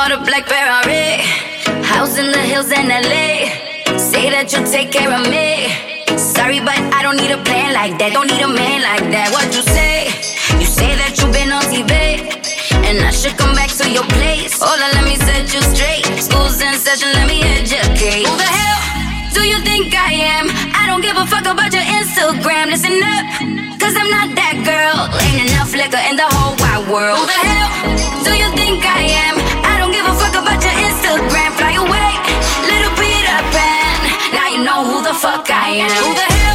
want a black Ferrari, house in the hills in LA. Say that you'll take care of me. Sorry, but I don't need a plan like that. Don't need a man like that. What you say? You say that you've been on TV, and I should come back to your place. Hold on, let me set you straight. School's in session, let me educate. Who the hell do you think I am? I don't give a fuck about your Instagram. Listen up, cause I'm not that girl. Ain't enough liquor in the whole wide world. Who the hell do you think I am? I don't give a fuck about your Instagram. Fly away, little Peter Pan. Now you know who the fuck I am. Who the hell?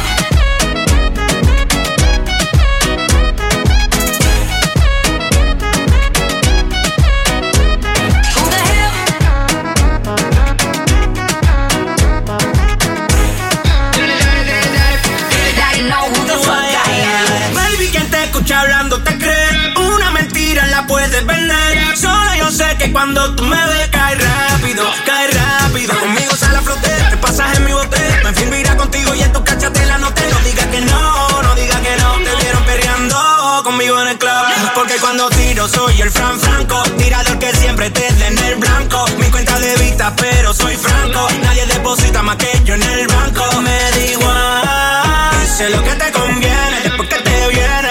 Hablando te crees, una mentira la puedes vender. Solo yo sé que cuando tú me ves cae rápido, cae rápido. Conmigo sale a flote, te pasas en mi bote. Me firmo irá contigo y en tu cachatela no te. No digas que no, no digas que no. Te vieron perreando conmigo en el club. Porque cuando tiro soy el Franco, tirador que siempre te dé en el blanco. Mi cuenta de vista pero soy franco. Nadie deposita más que yo en el banco. Me da igual, sé lo que te conviene. Después que te viene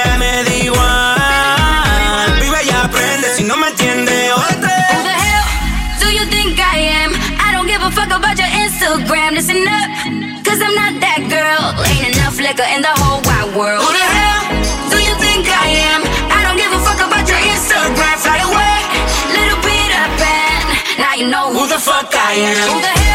no me entiende. Who the hell do you think I am? I don't give a fuck about your Instagram. Listen up, cause I'm not that girl. Ain't enough liquor in the whole wide world. Who the hell do you think I am? I don't give a fuck about your Instagram. Fly away, little Peter Pan. Now you know who the fuck I am. Who the hell?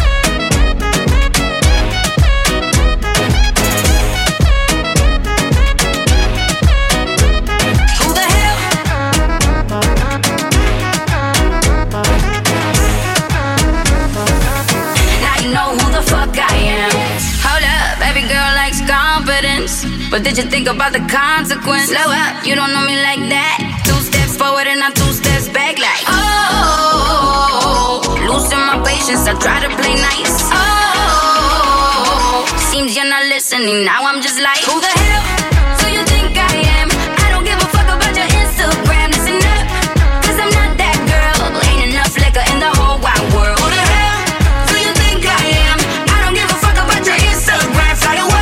But did you think about the consequence? Slow up, you don't know me like that. 2 steps forward and I'm 2 steps back like oh, losing my patience, I try to play nice. Oh, seems you're not listening, now I'm just like who the hell do you think I am? I don't give a fuck about your Instagram. Listen up, cause I'm not that girl. Ain't enough liquor in the whole wide world. Who the hell do you think I am? I don't give a fuck about your Instagram. Fly away,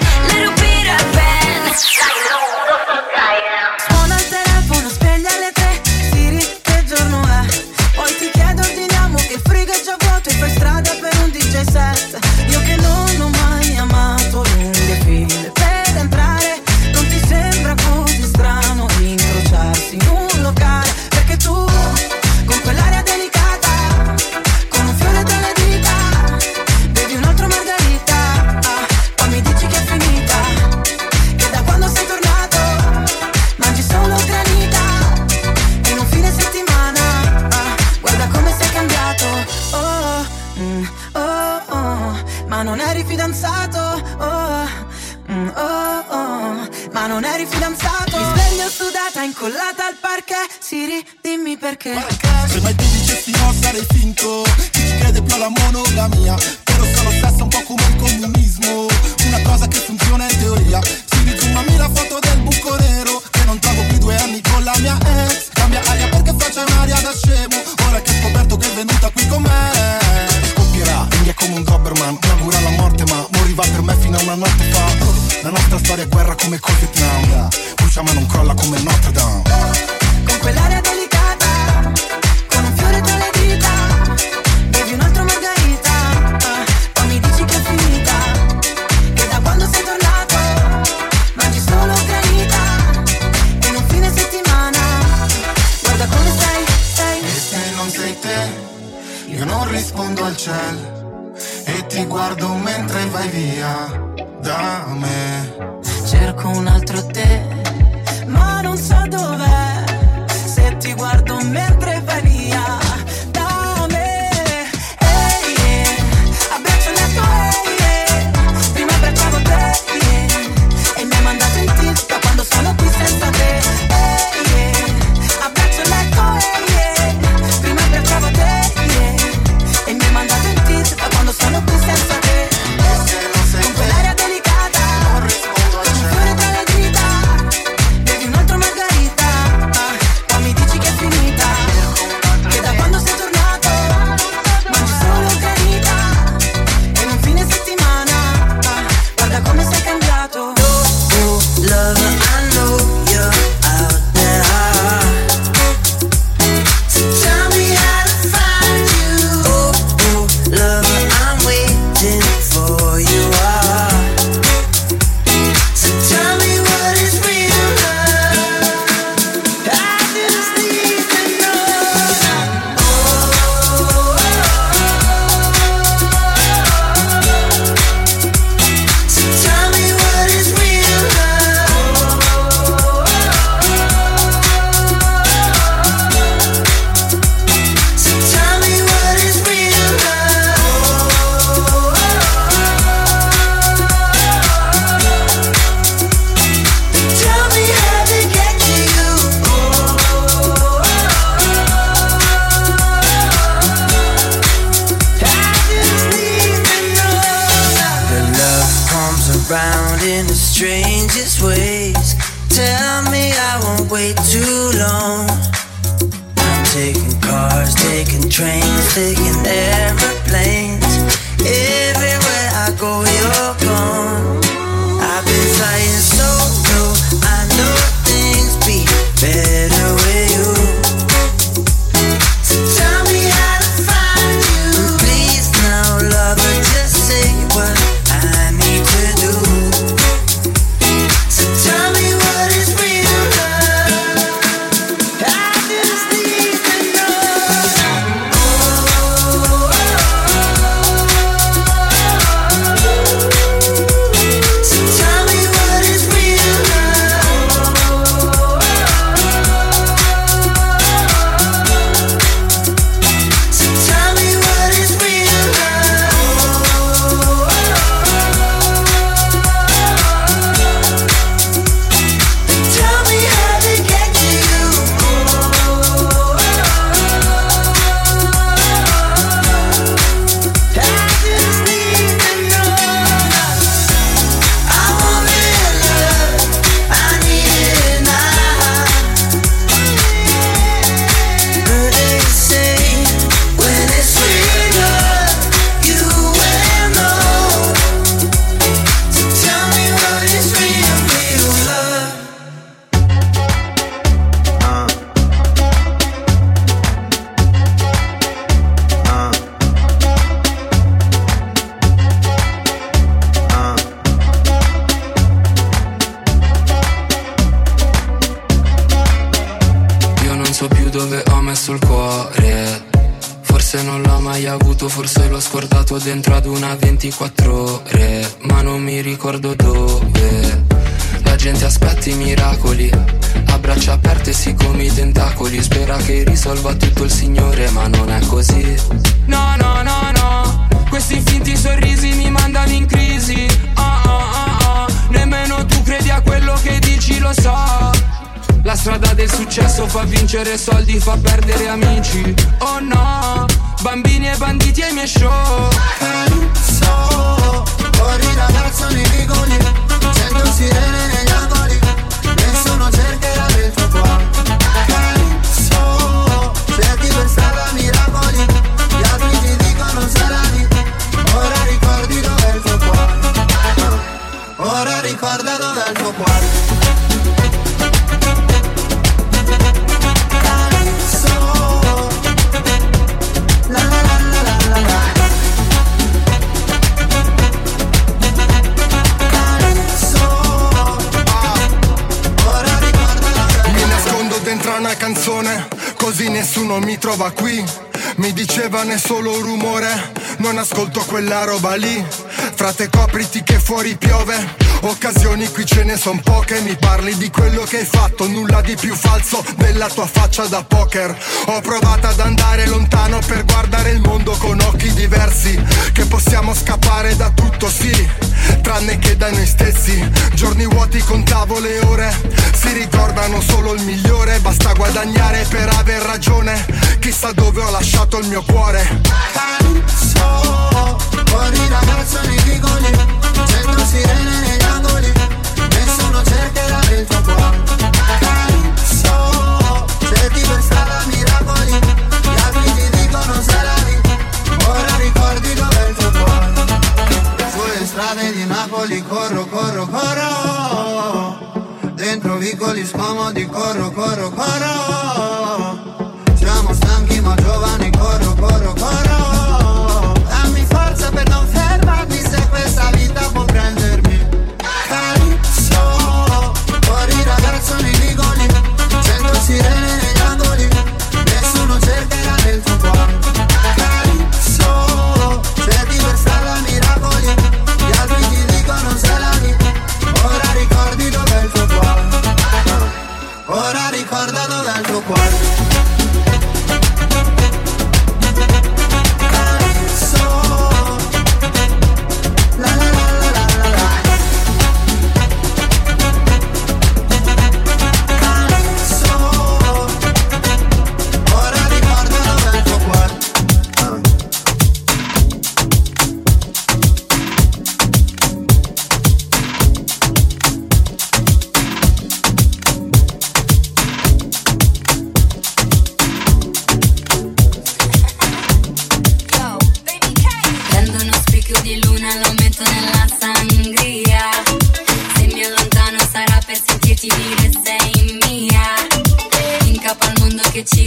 suona il telefono, sveglia alle 3, Siri, che giorno è? Poi ti chiedo, ordiniamo che il frigo è già vuoto e fai strada per un DJ set. Io che non ho mai amato lunghe file per entrare, non ti sembra così strano incrociarsi in un locale? Perché tu, con quell'aria delicata, con un fiore tra le dita, bevi un altro margarita, poi mi dici che è finita, che da quando sei tornato mangi solo granita, in un fine settimana, guarda come sei cambiato, ma non eri fidanzato, ma non eri fidanzato. Mi sveglio sudata, incollata al parquet, Siri, dimmi perché. Se mai tu dicessi no sarei finto, chi ci crede più alla monogamia, però sono stessa un po' come il comunismo, una cosa che funziona in teoria. Siri, zoomami la foto del buco nero, che non trovo più 2 anni con la mia ex. Cambia aria perché faccia un'aria da scemo, ora che ho scoperto che è venuta qui con me. Scoppierà, quindi è come un Doberman, mi augura la morte ma moriva per me fino a una notte fa. La nostra storia è guerra come col Vietnam, brucia ma non crolla come Notre Dame. Con quell'aria delicata, con un fiore tra le dita, bevi un altro margarita, poi mi dici che è finita, che da quando sei tornato mangi solo granita, in un fine settimana, guarda come sei. E se non sei te, io non rispondo al cielo e ti guardo mentre vai via da me. Cerco un altro te, ma non so dov'è, se ti guardo mentre vai via da me. Ehi, abbraccio il letto, prima abbracciavo te, e mi hai mandato in tilt da quando sono qui senza te. Abbraccio il letto, prima abbracciavo te, e mi hai mandato in tilt da quando sono qui senza te. Con quell'aria delicata, con un fiore tra le dita, way too long. I'm taking cars, taking trains, taking airplanes. Everywhere I go, you're gone. I've been flying so low, I know things be better with you. So tell me how to find you. Please now, lover, just say what I need to do. So tell me what is real love. I just need to know. So tell me what is real love. So tell me what is real love. Tell me how to get to you. I just need to know. I want real love. I need it now. But they say when it's real love, you will know. So tell me what is real love. Io non so più dove ho messo il cuore. Forse non l'ho mai avuto, forse l'ho scordato dentro ad una 24 ore. Ma non mi ricordo dove. La gente aspetta i miracoli, a braccia aperte sì come i tentacoli. Spera che risolva tutto il Signore, ma non è così. No, no, no, no. Questi finti sorrisi mi mandano in crisi. Nemmeno tu credi a quello che dici, lo so. La strada del successo fa vincere soldi, fa perdere amici. Oh no, bambini e banditi ai miei show. So, fuori ragazzo nei vicoli, sento sirene negli angoli, nessuno cercherà del tuo cuore. So, cerchi per strada miracoli, gli altri ti dicono sarai. Ora ricordi dov'è il tuo cuore. Ora ricorda dov'è il tuo cuore. Dentro una canzone, così nessuno mi trova qui. Mi dicevano è solo un rumore, non ascolto quella roba lì. Frate copriti che fuori piove, occasioni qui ce ne son poche. Mi parli di quello che hai fatto, nulla di più falso della tua faccia da poker. Ho provato ad andare lontano per guardare il mondo con occhi diversi. Che possiamo scappare da tutto sì, tranne che da noi stessi. Giorni vuoti contavo le ore, si ricordano solo il migliore. Basta guadagnare per aver ragione, chissà dove ho lasciato il mio cuore. So, fuori ragazzo nei vicoli, sento sirene negli angoli, nessuno cercherà del tuo cuore. So, cerchi per strada miracoli, gli altri ti dicono sarai. Ora ricordi dov'è il tuo cuore. Sulle strade di Napoli corro, corro, corro, dentro vicoli scomodi corro, corro, corro. Siamo stanchi ma giovani, corro, corro, corro. Dammi forza per non fermarmi se questa vita può prendermi. So, fuori ragazzo nei vicoli, sento sirene negli angoli, nessuno cercherà del tuo cuore. So, cerchi per strada miracoli, gli altri ti dicono sarai. Ora ricordi dov'è il tuo cuore. Ora ricorda dov'è il tuo cuore.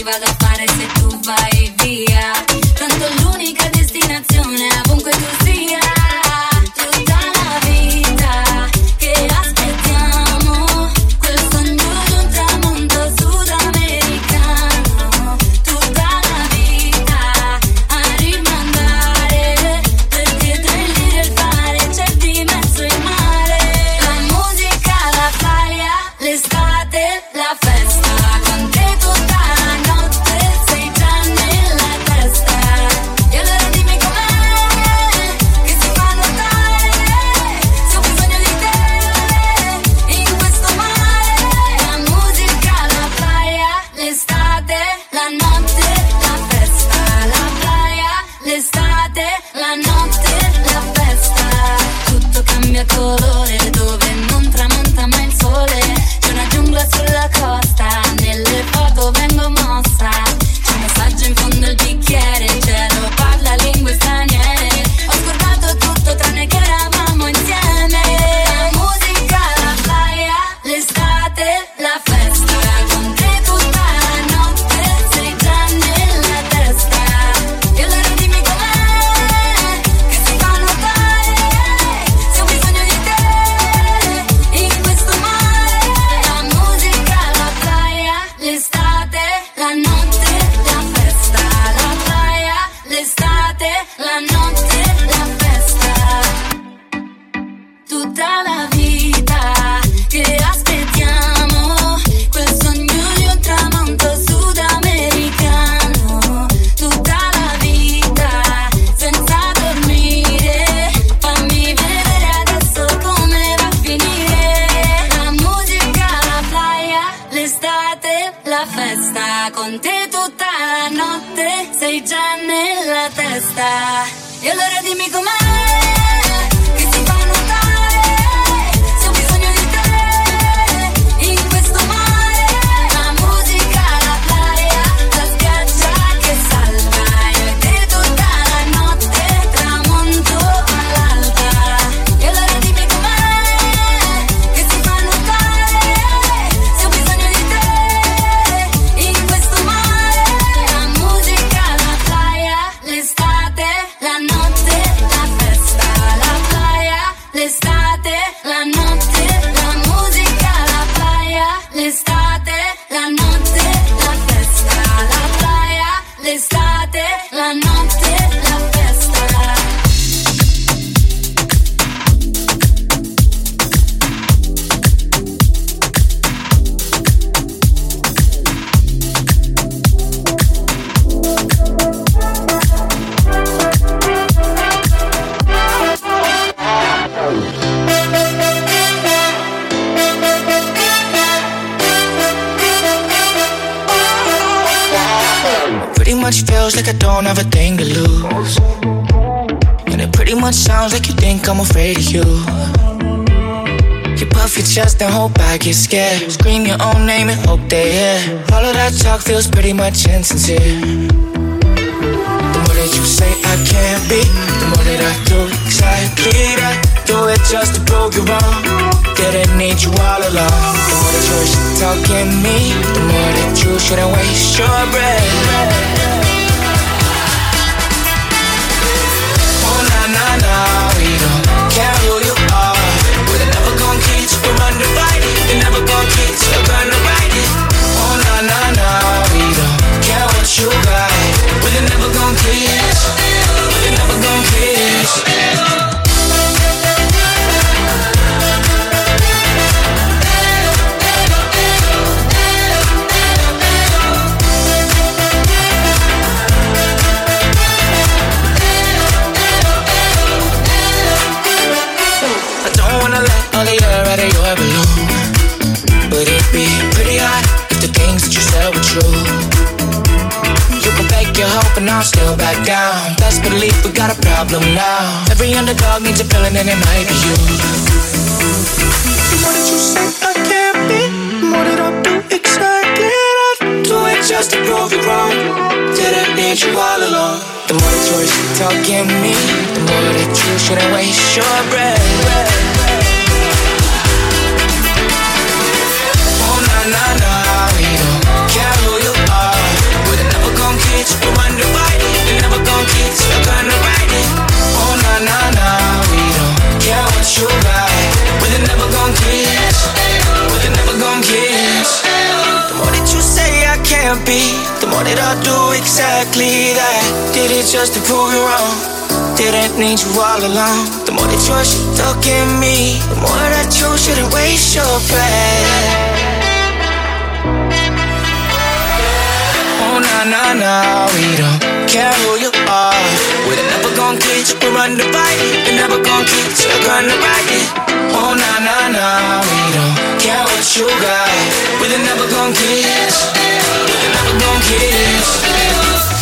vado a fare se tu vai via? Tanto l'unica destinazione ovunque tu sia. Tutta la vita che aspettiamo, quel sogno di un tramonto sudamericano. Tutta la vita a rimandare, perché tra il dire e il fare c'è di mezzo il mare. La musica, la playa, l'estate, la festa. Con te tutta la notte sei già nella testa. E allora dimmi com'è che si fa notare se ho bisogno di te in questo mare. La musica, la playa, l'estate, la notte, la festa. La playa, l'estate, la notte, la festa. Tutto cambia colore dove non tramonta mai il sole. C'è una giungla sulla costa, nelle foto vengo mossa. C'è un messaggio in fondo al bicchiere, il cielo parla lingue straniere. Ho scordato tutto tranne che eravamo insieme. La musica, la playa, l'estate, la festa. Con te tutta la notte sei già nella testa. E allora dimmi com'è che si fa notare se ho bisogno di te in questo mare. La musica, la playa, l'estate, la notte, la festa. La playa, l'estate, la notte, la festa. Tutta la vita che aspettiamo, quel sogno di un tramonto sudamericano. Tutta la vita senza dormire, fammi vedere adesso come va a finire. La musica, la playa, l'estate, la festa. Con te tutta la notte sei già nella testa. E allora dimmi com'è che si fa notare se ho bisogno di te in questo mare. La musica, la playa, la spiaggia che salva. Io e te tutta la notte, tramonto all'alba. E allora dimmi com'è che si fa notare se ho bisogno di te in questo mare. La musica, la playa, l'estate, la notte, la festa. La playa, l'estate, la notte, la musica, la playa, l'estate, la notte, la festa. La playa, l'estate, la notte, la festa. Pretty much feels like I don't have a thing to lose, and it pretty much sounds like you think I'm afraid of you. You puff your chest and hold back, you're scared. Scream your own name and hope they hear. All of that talk feels pretty much insincere. The more that you say I can't be, the more that I do exactly that. Do it just to prove you wrong. Didn't need you all along. The more that you should talk in me, the more that you shouldn't waste your breath. Oh na na na, we don't care who you are. We're never gonna get you from undivided. You're never gonna get you gonna ride it. Oh na na na, we don't care what you got. We're never gonna kiss. We're never gonna kiss. All the air out of your balloon, but it'd be pretty hot if the things that you said were true. You can fake your hope and I'll still back down. Best believe we got a problem now. Every underdog needs a villain and it might be you. The more that you say I can't be, the more that I'll do exactly that. Do it just to prove you wrong. Didn't need you all along. The more that you talk in me, the more that you shouldn't waste your breath. Na na, we don't care who you are. wanna be, the more that I do exactly that. Did it just to prove you wrong, didn't need you all along. The more that you look at me, the more that you shouldn't waste your breath. Oh na na na, we don't care who you are. We're never gonna get you, we run the fight. We're never gonna get you, gonna ride it. Oh na na na, we don't care what you got. We're never gonna get you, we're never gonna get you.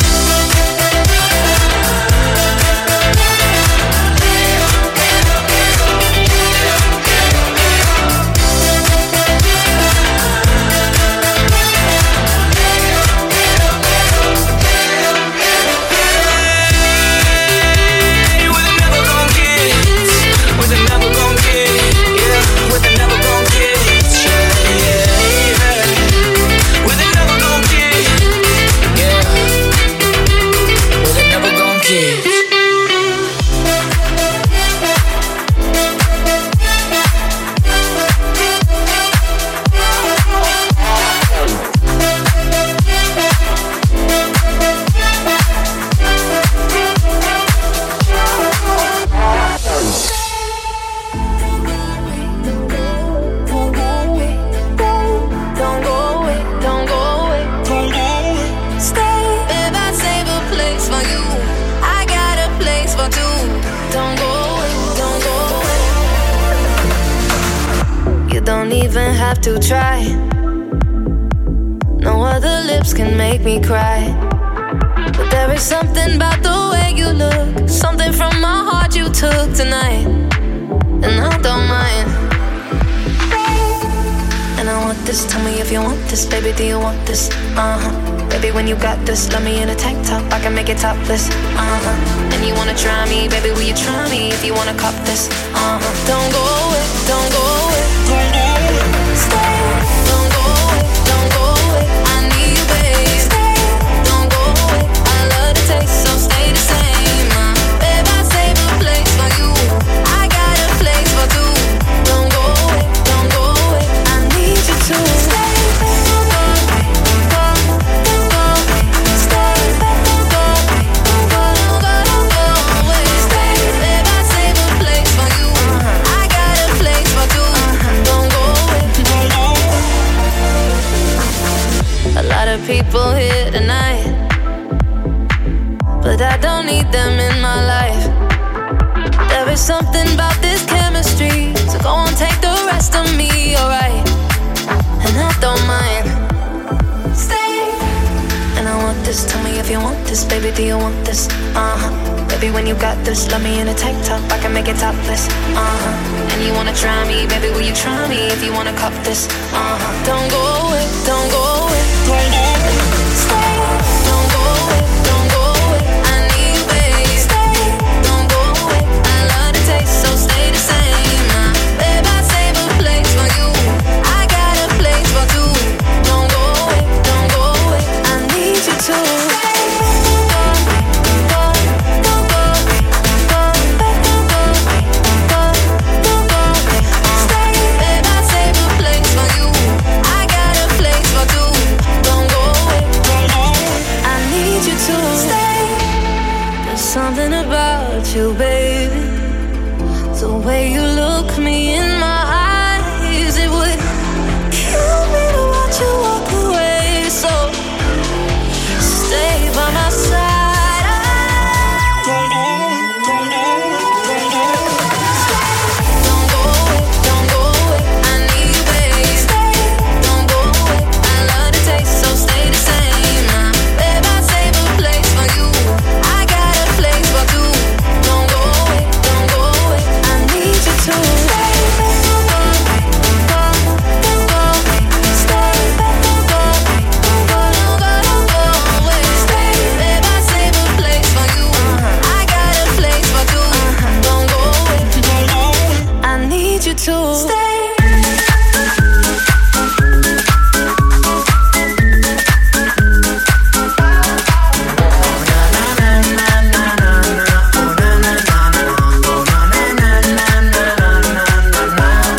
To try. No other lips can make me cry. But there is something about the way you look, something from my heart you took tonight, and I don't mind. And I want this, tell me if you want this, baby, do you want this? Baby, when you got this, love me in a tank top, I can make it topless. And you wanna try me, baby, will you try me if you wanna cop this? Don't go away, don't go away, don't go away. Stay, don't go away, don't go away. I need you, babe. Stay, don't go away. I love the taste, so stay the same. Babe, I save a place for you. I got a place for two. Don't go away, don't go away. I need you to stay. Don't go away, don't go away. Stay, don't go away, don't go away. Stay, babe, I save a place for you. I got a place for two. Don't go away. A lot of people here tonight, but I don't need them in my life. There is something about this chemistry, so go on, take the rest of me, alright? And I don't mind. Stay. And I want this, tell me if you want this, baby, do you want this? Baby, when you got this, love me in a tank top, I can make it topless. And you wanna try me, baby, will you try me if you wanna cop this? Don't go away, don't go away, don't go away. Stay, don't go away, don't go away. I need you, babe. Stay, don't go away. I love the taste, so stay the same. Babe, I save a place for you. I got a place for two. Don't go away, don't go away. I need you to stay. Something about you, baby, the way you look me in my eyes, it would kill me to watch you walk away. So stay by my side. Don't go away, don't go away. I need you, babe. Stay, don't go away. I love the taste, so stay the same. Babe, I save a place for you. I got a place for two. Don't go away, don't go away. I need you to stay. Don't go away, don't go away. Stay, don't go away, don't go away. Stay, babe, I save a place for you. I got a place for two. Don't go away, don't go away. I need you to stay.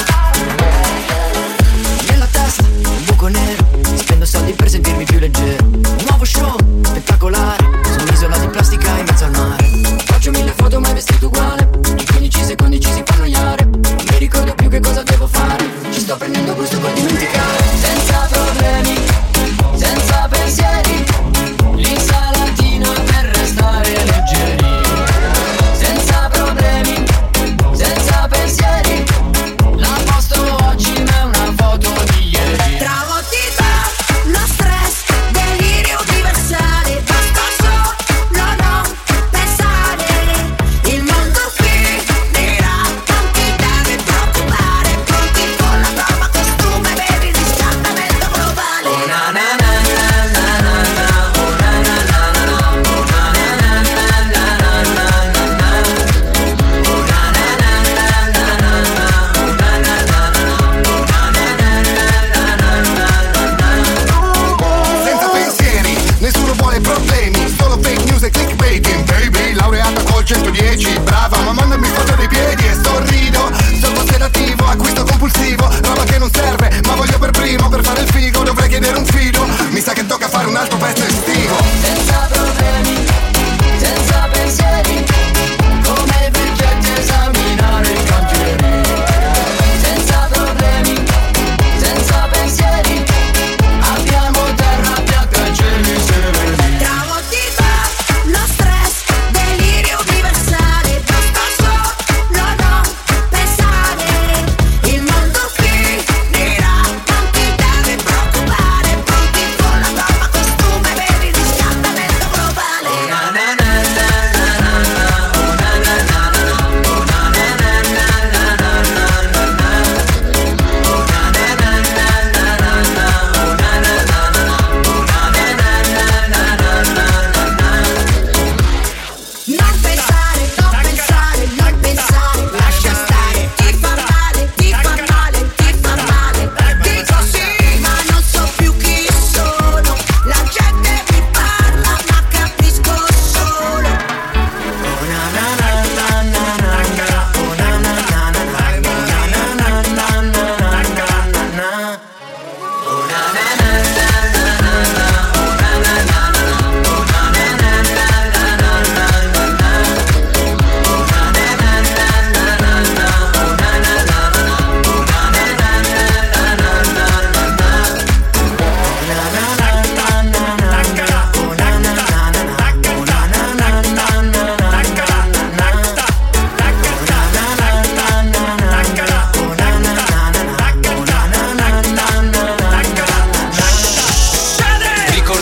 Nella testa un buco nero, spendo soldi per sentirmi più leggero.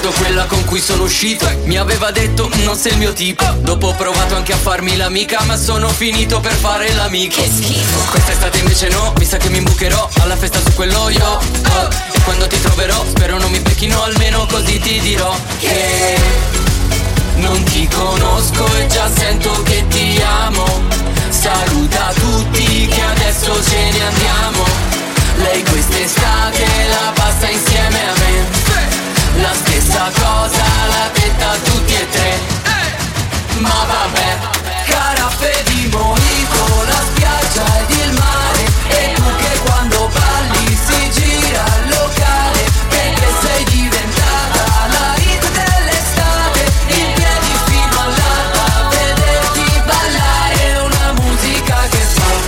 ricordo quella con cui sono uscito. Mi aveva detto non sei il mio tipo. Dopo ho provato anche a farmi l'amica, ma sono finito per fare l'amico. Che schifo. Quest'estate invece no, mi sa che mi imbucherò alla festa su quello io. E quando ti troverò spero non mi becchino, almeno così ti dirò che non ti conosco e già sento che ti amo. Saluta tutti che adesso ce ne andiamo. Lei quest'estate la passa insieme a me. La stessa cosa l'ha detta a tutti e tre. Ma vabbè, caraffe di mojito, la spiaggia ed il mare. E tu che quando balli si gira il locale, perché sei diventata la hit dell'estate. In piedi fino all'alba, vederti ballare, una musica che fa.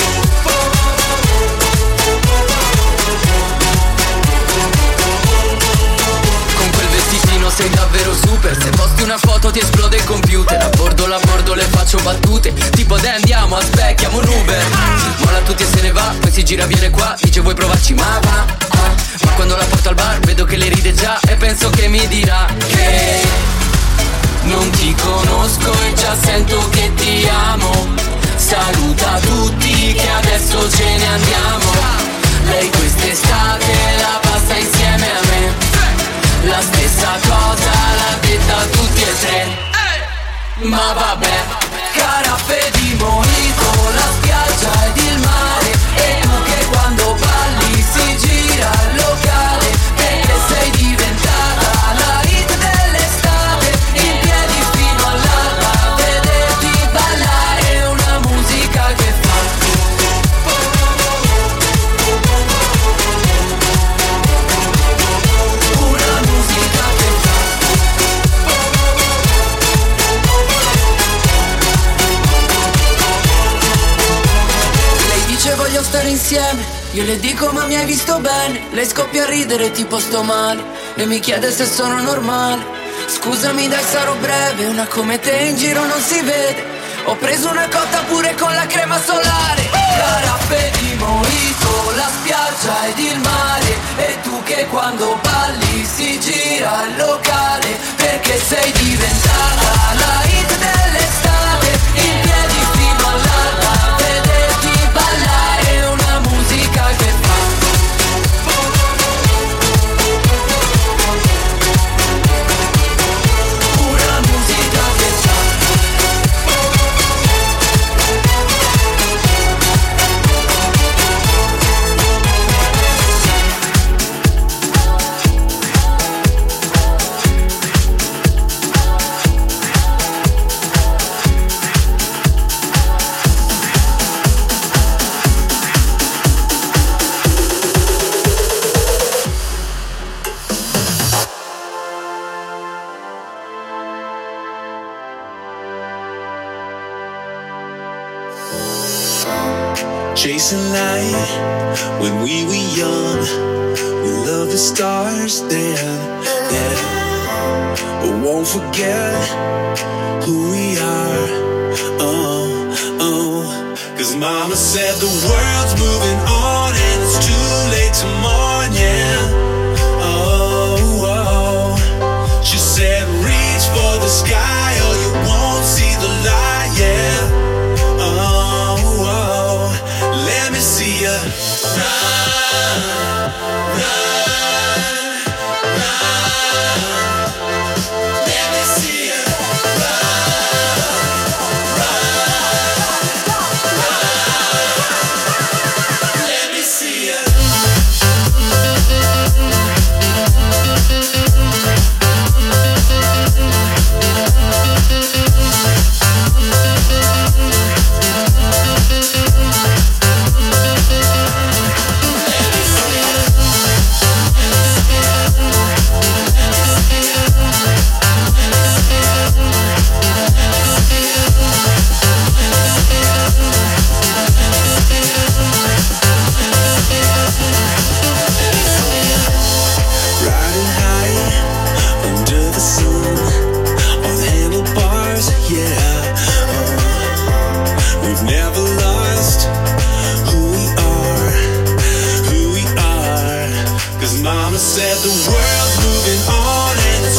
Sei davvero super, se posti una foto ti esplode il computer. A bordo le faccio battute, tipo dai andiamo, aspettiamo un Uber. Molla tutti e se ne va, poi si gira viene qua, dice vuoi provarci ma va. Ma quando la porto al bar vedo che le ride già e penso che mi dirà che non ti conosco e già sento che ti amo. Saluta tutti che adesso ce ne andiamo. Lei quest'estate la passa insieme a me. La stessa cosa l'ha detta a tutti e tre. Ma vabbè, caraffe di mojito, la spiaggia ed il mare. E tu che quando balli si gira il locale, perché sei diventata la hit dell'estate. In piedi fino all'alba, vederti ballare, una musica che fa. Voglio stare insieme, io le dico ma mi hai visto bene. Lei scoppia a ridere tipo sto male e mi chiede se sono normale. Scusami dai sarò breve, una come te in giro non si vede. Ho preso una cotta pure con la crema solare. Caraffe di mojito, la spiaggia ed il mare. E tu che quando balli si gira il locale, perché sei diventata la hit dell'estate. In piedi fino all'alba, vederti ballare, una musica che fa. Una musica che fa. Chasing light when we were young, we loved the stars then, but won't forget who we are. Cause mama said the world's moving on and it's too late to mourn, yeah. She said reach for the sky or you won't see the light, yeah. Let me see ya run, run, run. Let me see ya run, run, run. Let me see ya. Mama said the world's moving on and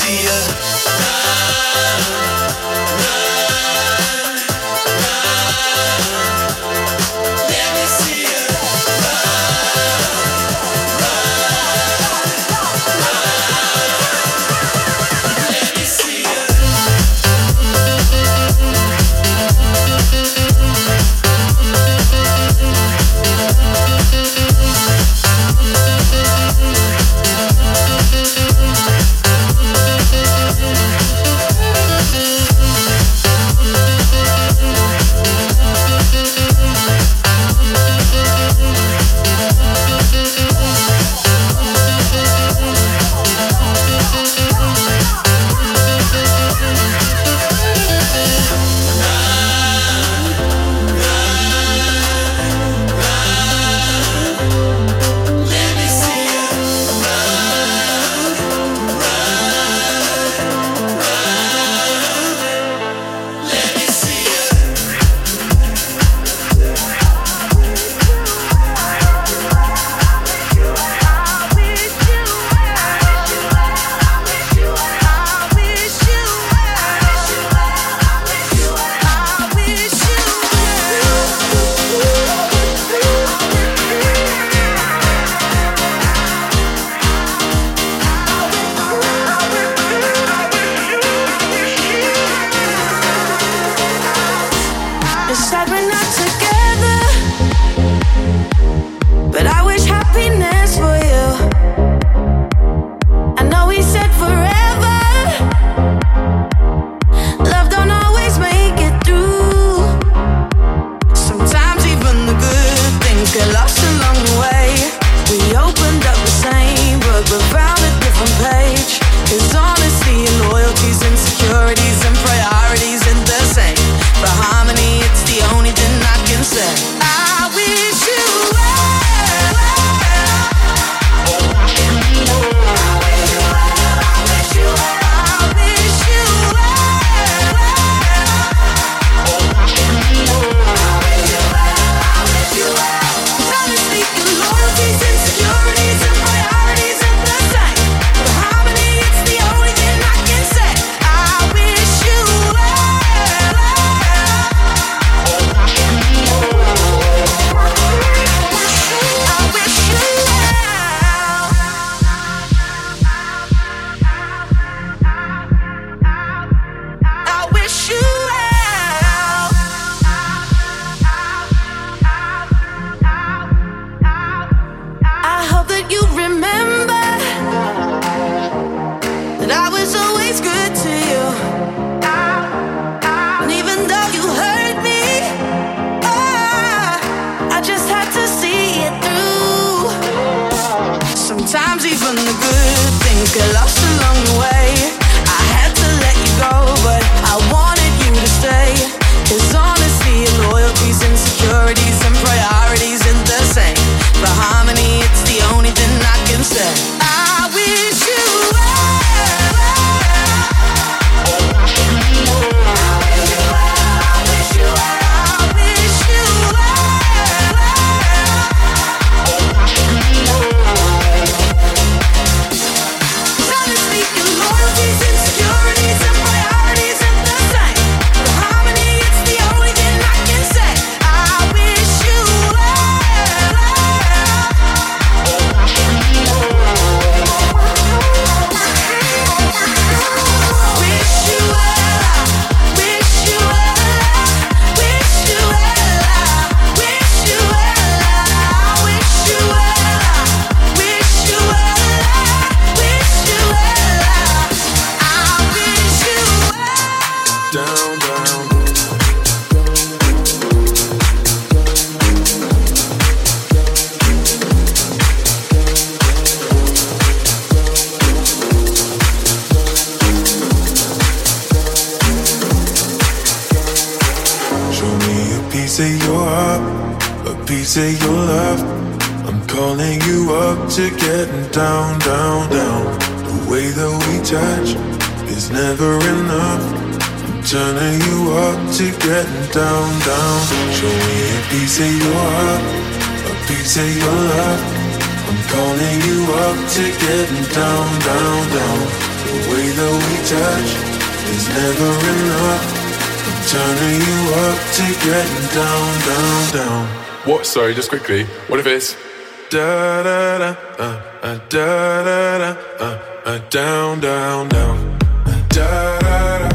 see ya. piece of your heart, a piece of your love. I'm calling you up to getting down, down, down. The way that we touch is never enough. I'm turning you up to getting down, down. Show me a piece of your heart, a piece of your love. I'm calling you up to getting down, down, down. The way that touch is never enough. I'm turning you up to getting down, down, down. What? Sorry, just quickly. What if it's da da da da da da down, down, down, da da da.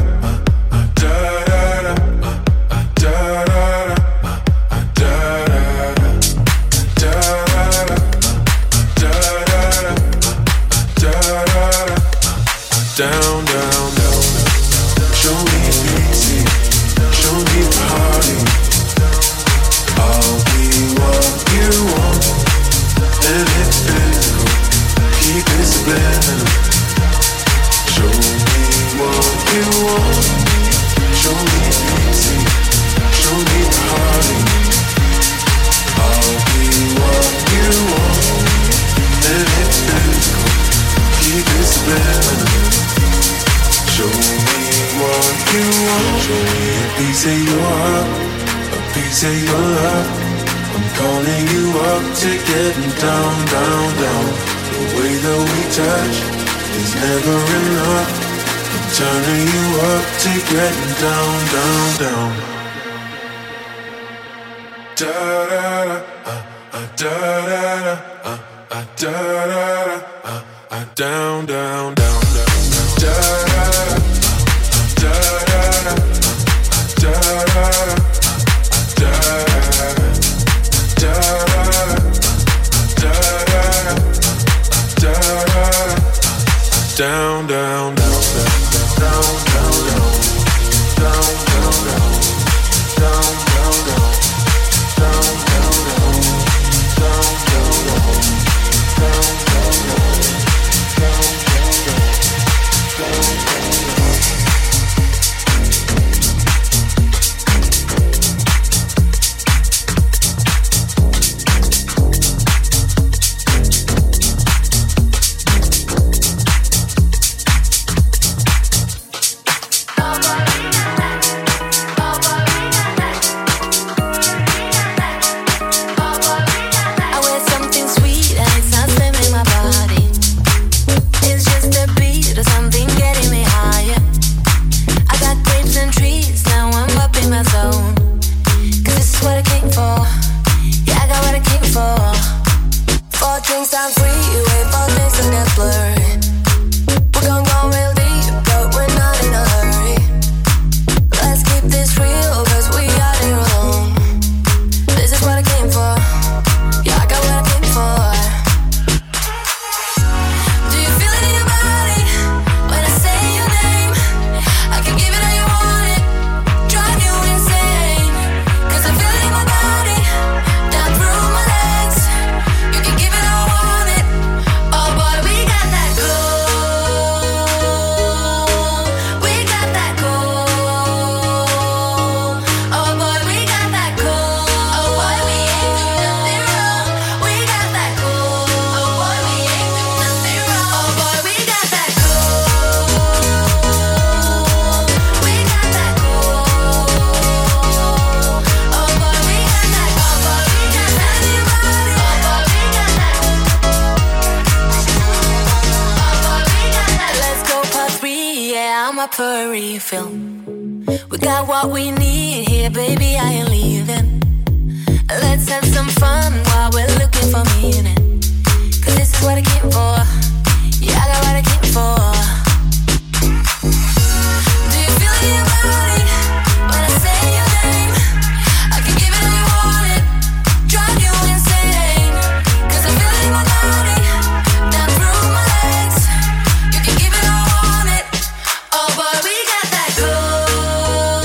Down, down, down. Show me easy. Show me party. I'll be what you want, and it's physical. Keep it subliminal. Show me what you want. Show me easy. Show me party. I'll be what you want, and it's physical. Keep it subliminal. Show me what you want. Show me a piece of your heart, a piece of your love. I'm calling you up to getting down, down, down. The way that we touch is never enough. I'm turning you up to getting down, down, down. Da da da, da da da, da da da, down, down, down, down. Da da da, da da da, da da da, down, down, down, down, down, down, down, down, down, down, down. For refill. We got what we need here, baby, I ain't leaving. Let's have some fun while we're looking for meaning. Cause this is what I came for. Yeah, I got what I came for. Do you feel it in your body when I say your name? I can give it all you want it, drive you insane. Cause I feel it in my body, down through my legs. You can give it all I want it. Oh boy, we got that gold.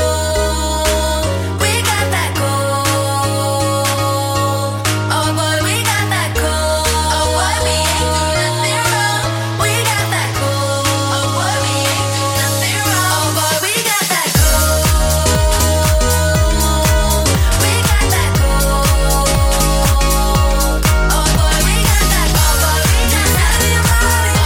We got that gold. Oh boy, we got that gold. Oh boy, we ain't do nothing wrong. We got that gold. Oh boy, we ain't do nothing wrong. Oh boy, we got that gold. We got that gold. Oh boy, we got that. Oh boy, we got that. Oh boy, we got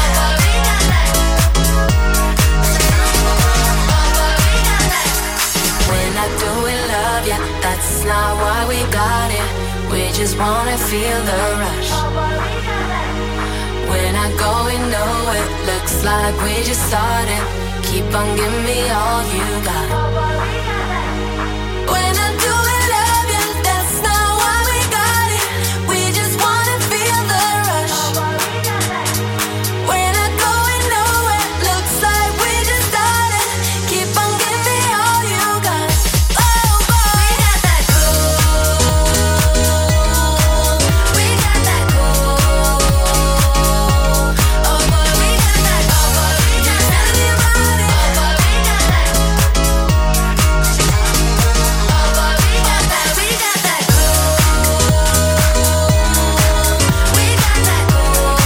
that. We're not doing love, yeah, that's not why we got it. We just wanna feel the rush. We're not going nowhere, looks Looks like we just started. Keep on giving me all you got. When I do it, love you, that's not why we got it. We just wanna feel the rush. We're not going nowhere. Looks like we just started. Keep on giving me all you got. Oh boy, we got that gold. We got that gold. Oh boy, we got that gold. Just tell me about it. Oh boy, we got that. Oh boy, we got that. We got that gold. We got that gold.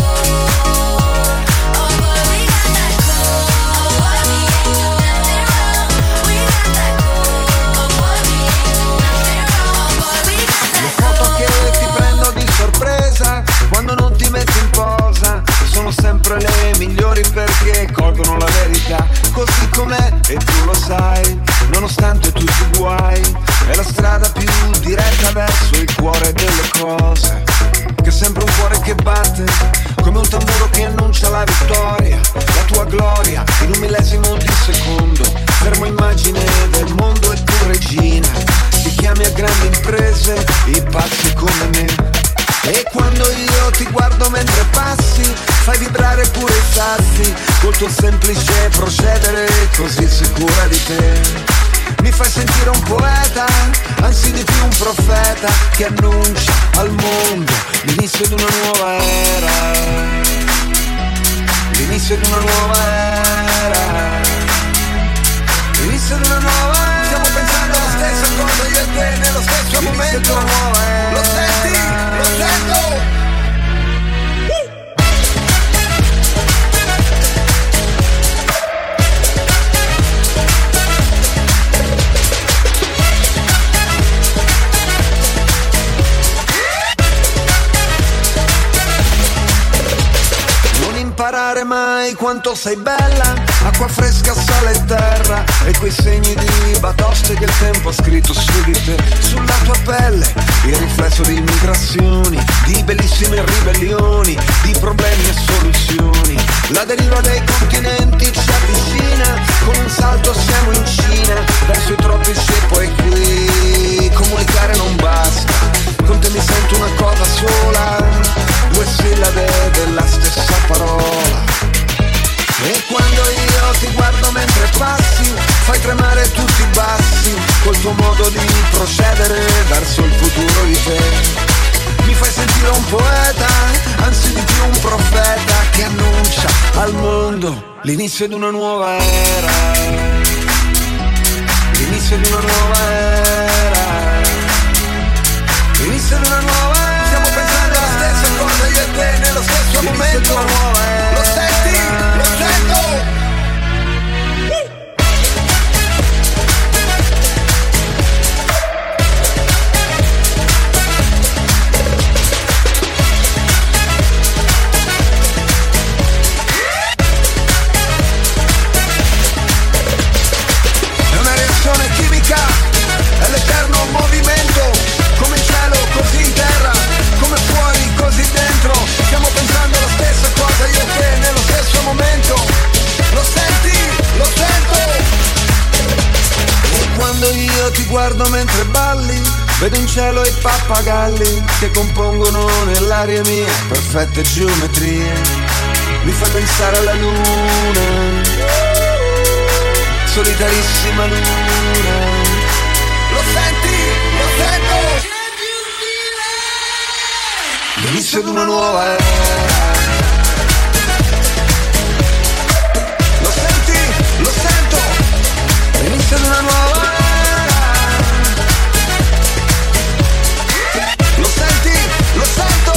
Oh boy, we got that gold. Oh boy, we ain't do nothing wrong. We got that gold. Oh boy, we ain't do nothing wrong. Oh boy, we got that Le foto che ti prendo di sorpresa quando non ti metti in posa sono sempre le migliori perché colgono la verità così com'è e tu lo sai, nonostante tutti i guai è la strada più diretta verso il cuore delle cose, che è sempre un cuore che batte come un tamburo che annuncia la vittoria, la tua gloria in un millesimo di secondo, fermo immagine del mondo e tu regina, ti chiami a grandi imprese i pazzi come me. E quando io ti guardo mentre passi, fai vibrare pure i sassi, col tuo semplice procedere così sicura di te. Mi fai sentire un poeta, anzi di più un profeta, che annuncia al mondo l'inizio di una nuova era. L'inizio di una nuova era. L'inizio di una nuova era. Stiamo pensando alla stessa cosa io e te nello stesso momento. Lo senti? Lo sento! Imparare mai quanto sei bella, acqua fresca, sale e terra, e quei segni di batoste che il tempo ha scritto su di te, sulla tua pelle, il riflesso di migrazioni, di bellissime ribellioni, di problemi e soluzioni. La deriva dei continenti ci avvicina, con un salto siamo in Cina, verso i tropici e poi qui. Comunicare non basta, con te mi sento una cosa sola, due sillabe della stessa parola. E quando io ti guardo mentre passi, fai tremare tutti i bassi, col tuo modo di procedere verso il futuro di te. Mi fai sentire un poeta, anzi di più un profeta, che annuncia al mondo l'inizio di una nuova era. L'inizio di una nuova era. L'inizio di una nuova era. Stiamo pensando alla stessa cosa io e te nello stesso momento. Lo senti? Lo sento! È una reazione chimica, è l'eterno movimento, come in cielo così in terra, come fuori così dentro. Stiamo pensando alla stessa cosa io e te nello stesso momento. Lo senti? Lo sento! E quando io ti guardo mentre balli, vedo in cielo i pappagalli che compongono nell'aria mia perfette geometrie. Mi fai pensare alla luna, solitarissima luna. Lo senti? Lo sento! L'inizio di una nuova era. Lo senti? Lo sento! L'inizio di una nuova era. Lo senti? Lo sento!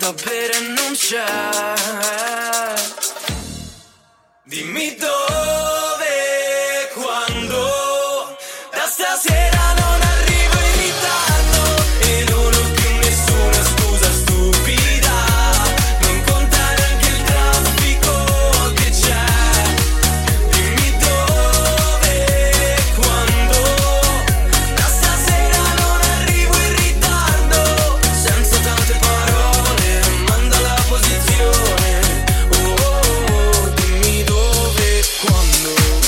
da bere non c'è. Dimmi dove, quando, da stasera non arrivo in ritardo e non ho più nessuna scusa stupida, non conta neanche il traffico che c'è. Dimmi dove, quando, da stasera non arrivo in ritardo, senza tante parole, manda la posizione. Oh, oh, oh, dimmi dove, quando.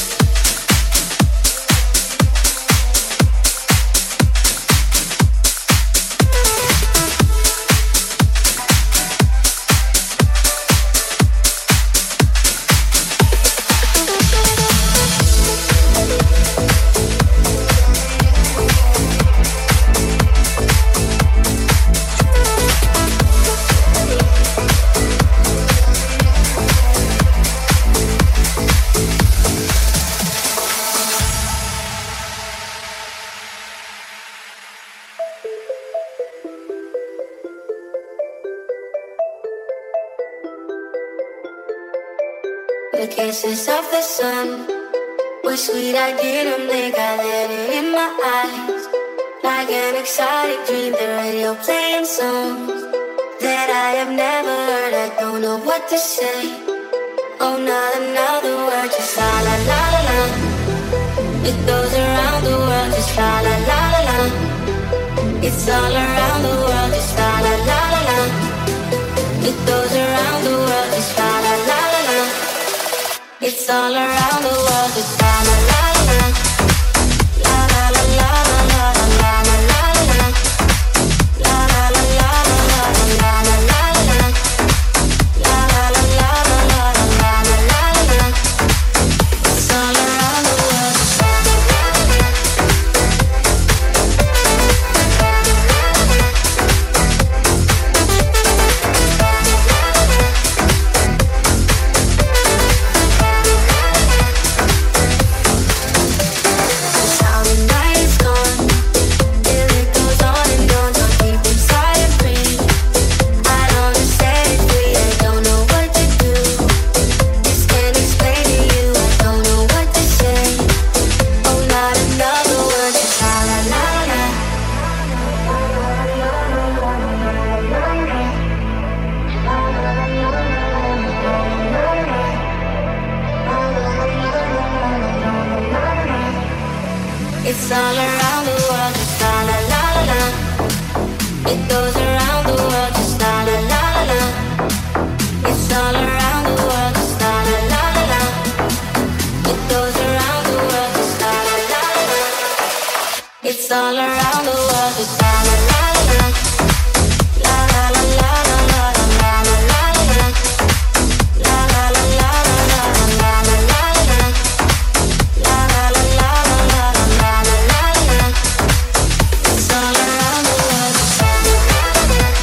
The kisses of the sun were sweet, I didn't think I let it in my eyes. Like an exotic dream, the radio playing songs that I have never heard. I don't know what to say. Oh, not another word, just la la la la la. It goes around the world, just la la la la la. It's all around the world, just la la la la la. It goes around the world, just la la la la la. It's all around the world, just la la la la la. La la la la la la la la la la. La la la la la la la la la la. La la la la la la la la la. It's all around the world, just la la la la la. It's all around the world, just la la la la la. It goes around the world, just la la la la la. It's all around the world, just la la la la la. It goes around the world, just la la la la la. It's all around the world, just la la la la la. La la la la la la la la la la. La la la la la la la la la la. La la la la la la la la la. It's all around the world, just la la la la la.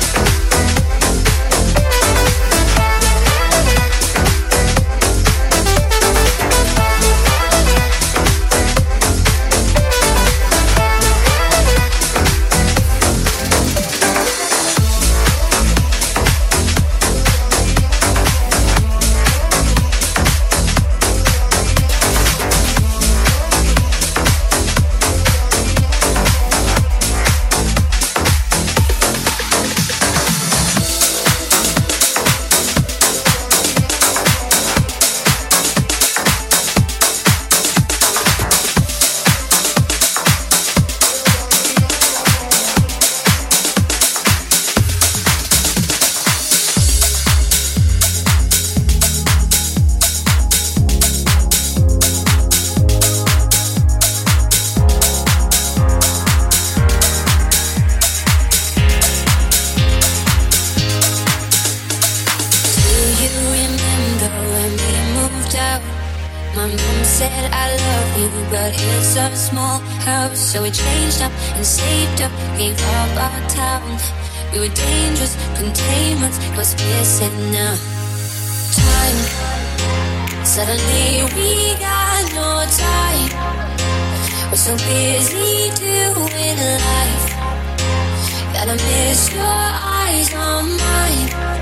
My mom said I love you, but it's a small house. So we changed up and saved up, gave up our town. We were dangerous containment, was missing now. Time, suddenly we got no time. We're so busy doing life that I miss your eyes on mine.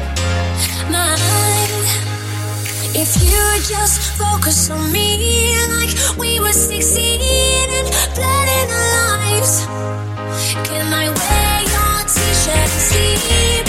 just focus on me like we were 16 and planning our lives. Can I wear your t-shirt and see